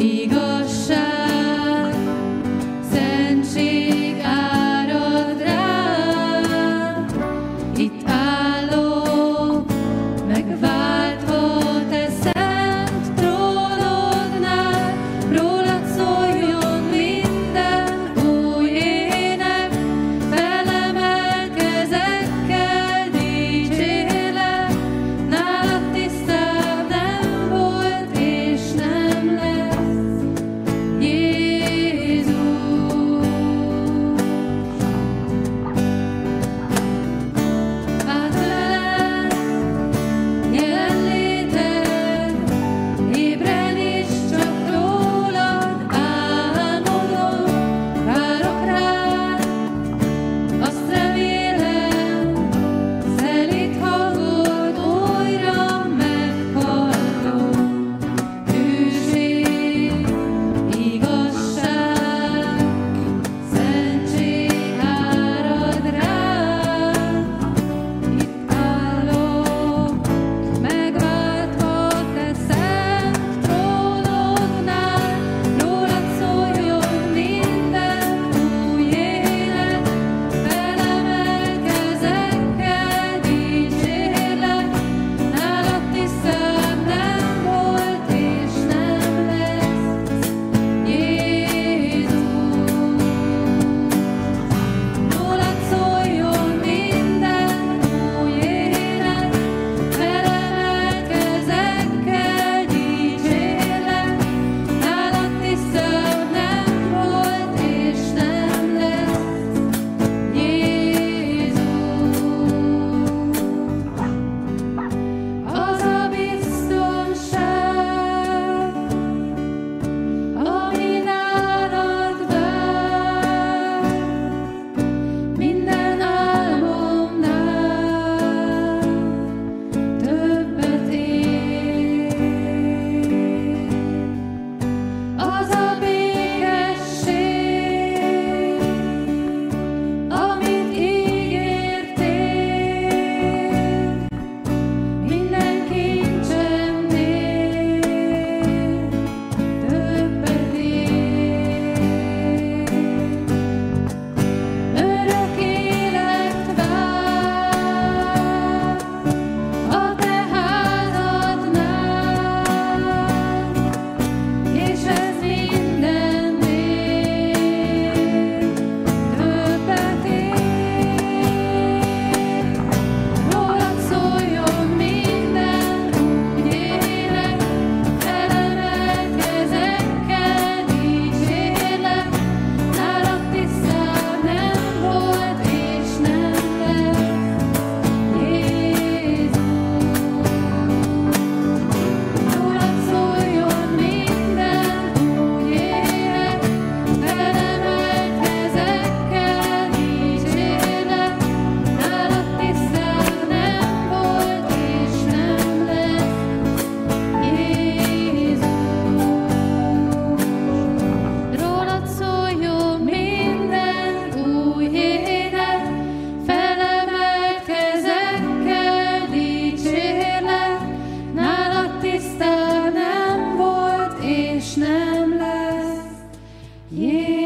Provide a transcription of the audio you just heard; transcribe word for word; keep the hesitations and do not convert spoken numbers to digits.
igazság, szentség árad rám. Itt állok, megváltva te szent trónodnál, rólad szóljon minden új ének, felemelkezek, kell dicsérlek, nálad tisztább nem volt és nem lesz. Jézus, átölel jelenléted, ébren is csak rólad álmodom, várok rád, azt remélem, szelíd hangod újra meghallom. Hűség, igazság, szentség árad rám. Itt állok, megváltva te szent trónodnál, rólad szóljon minden új ének, felemelkezek, kell dicsérlek, nálad tisztább nem volt és nem lesz. Jézus, rólad szóljon minden új ének, felemelkezek, kell dicsérlek, nálad tisztább nem volt és nem lesz. Jézus, az a biztonság, ami nálad vár, minden álmomnál többet ér. Az a békesség, amit ígértél, minden kincsemnél többet ér. Örök élet vár a te házadnál, és ez mindennél többet ér. Rólad szóljon minden új ének, felemelkezek, kell dicsérlek, nálad tisztább nem volt és nem lesz. Jézus, rólad szóljon minden új ének, felemelkezek, kell dicsérlek, nálad tisztább nem volt és nem lesz. Jézus, rólad szóljon minden új ének, felemelkezek, kell dicsérlek, nálad tisztább nem volt és nem lesz. Jézus.